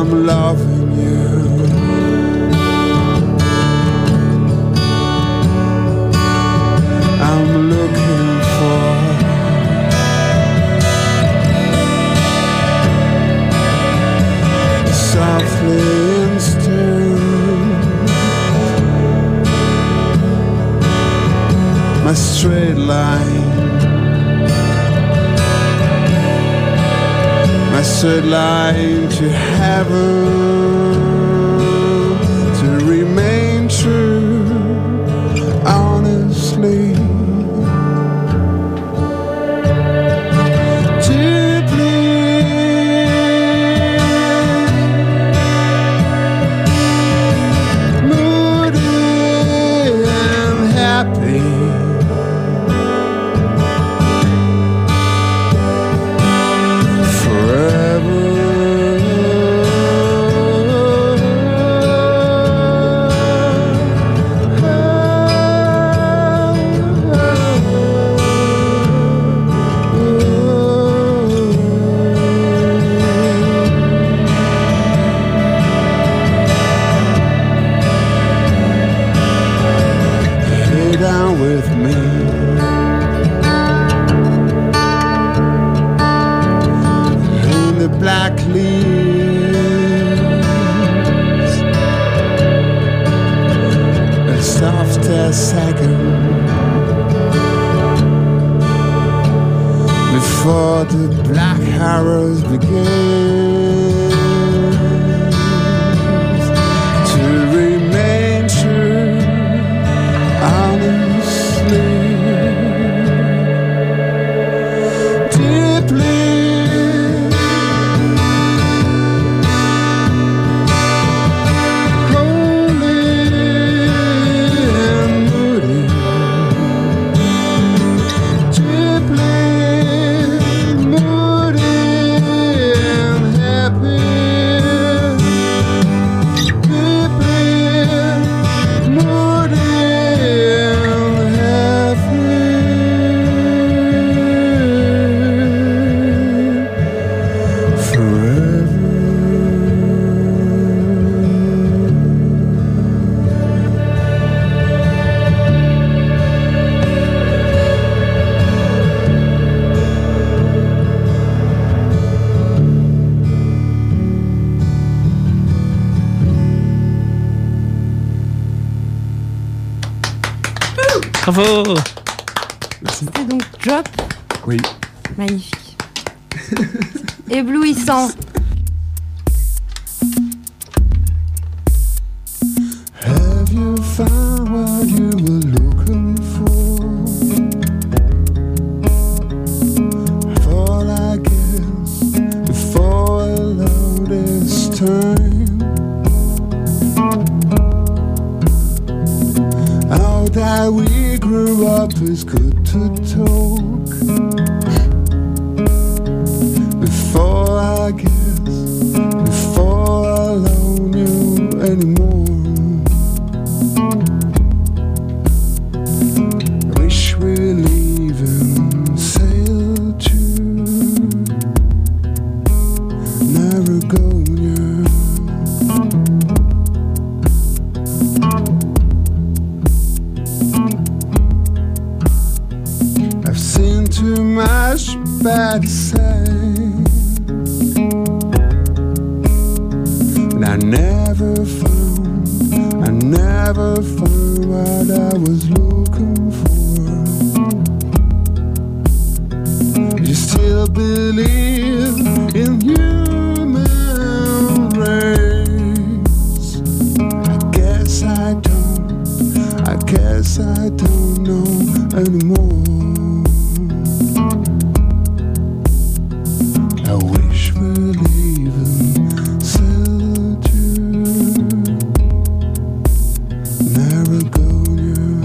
I'm loving you. I'm looking for softly instant, my straight line, my straight line to heaven, to remain true, honestly. Before the black arrows begin to remain true, honestly, deeply. Bravo. C'était donc Drop. Oui. Magnifique. Éblouissant. Have you found what you were looking for? Fall, I guess, before I love this time. How that we grew up is good to talk. Before I guess, before I love you anymore. Wish we're leaving, sail to Narragansett. I've seen too much bad signs, and I never found what I was looking for. You still believe in human race? I guess I don't know anymore. I wish we're leaving, sail to Narragansett.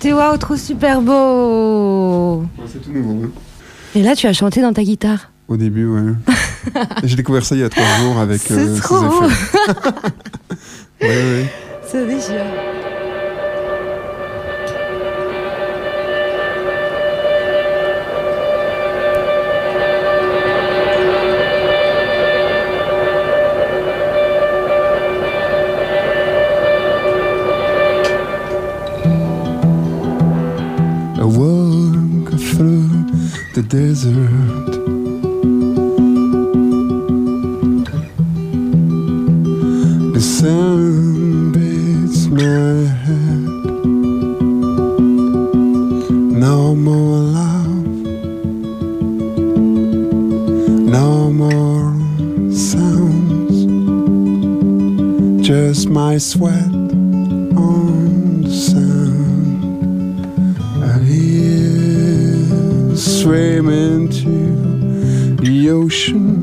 C'était waouh, trop super beau. C'est tout nouveau. Hein. Et là, tu as chanté dans ta guitare. Au début, ouais. J'ai découvert ça il y a 3 jours avec C'est ces trop beau. effets. Ouais. Ça déchire. I walk through the desert. The sun beats my head. No more love, no more sounds. Just my sweat on the sand. I hear swimming to the ocean.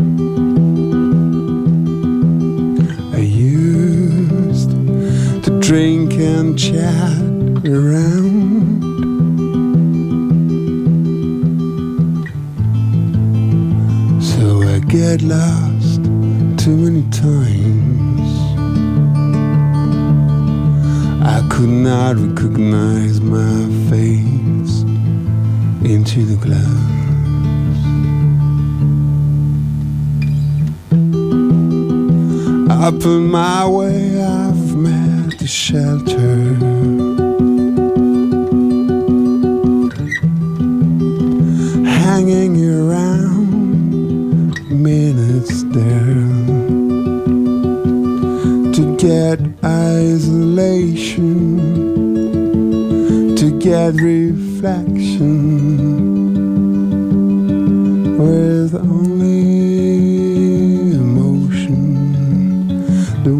I used to drink and chat around. So I get lost too many times. I could not recognize my face into the glass. Up on my way, I've met the shelter. Hanging around minutes there to get isolation, to get reflection with only emotion. The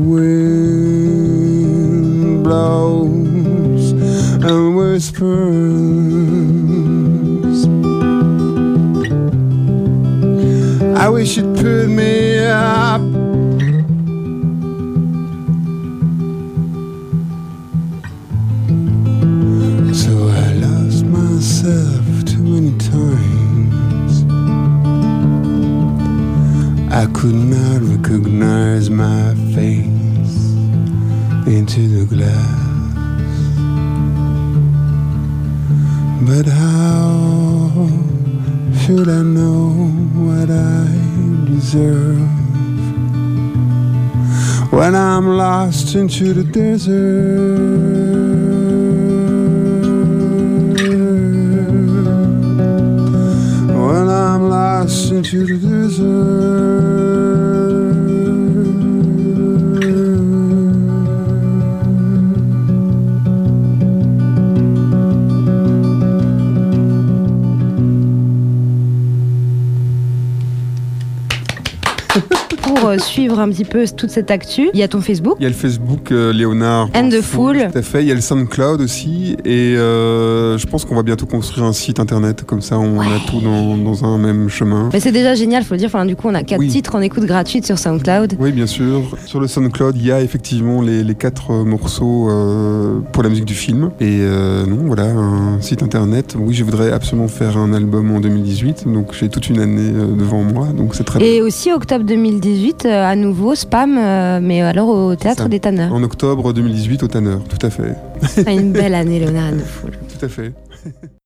wind blows and whispers. I wish you'd put me up. So I lost myself too many times. I could not recognize my face into the glass. But how should I know what I deserve when I'm lost into the desert? When I'm lost into the desert. Pour suivre un petit peu toute cette actu, il y a ton Facebook. Il y a le Facebook Léonard And the Fool. Tout à fait. Il y a le SoundCloud aussi. Et je pense qu'on va bientôt construire un site internet. Comme ça, on a tout dans un même chemin. Mais c'est déjà génial, faut le dire. Enfin, du coup, on a 4 titres en écoute gratuite sur SoundCloud. Oui, bien sûr. Sur le SoundCloud, il y a effectivement les 4 morceaux pour la musique du film. Et non, voilà, un site internet. Oui, je voudrais absolument faire un album en 2018. Donc, j'ai toute une année devant moi. Donc, c'est très bien. Et aussi, octobre 2018, à nouveau, Spam, mais alors au Théâtre des Tanneurs. En octobre 2018 au Tanneurs, tout à fait. Une belle année, Léonard and the Fool. Tout à fait.